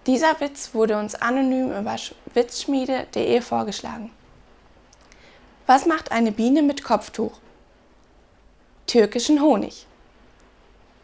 Dieser Witz wurde uns anonym über witzschmiede.de vorgeschlagen. Was macht eine Biene mit Kopftuch? Türkischen Honig.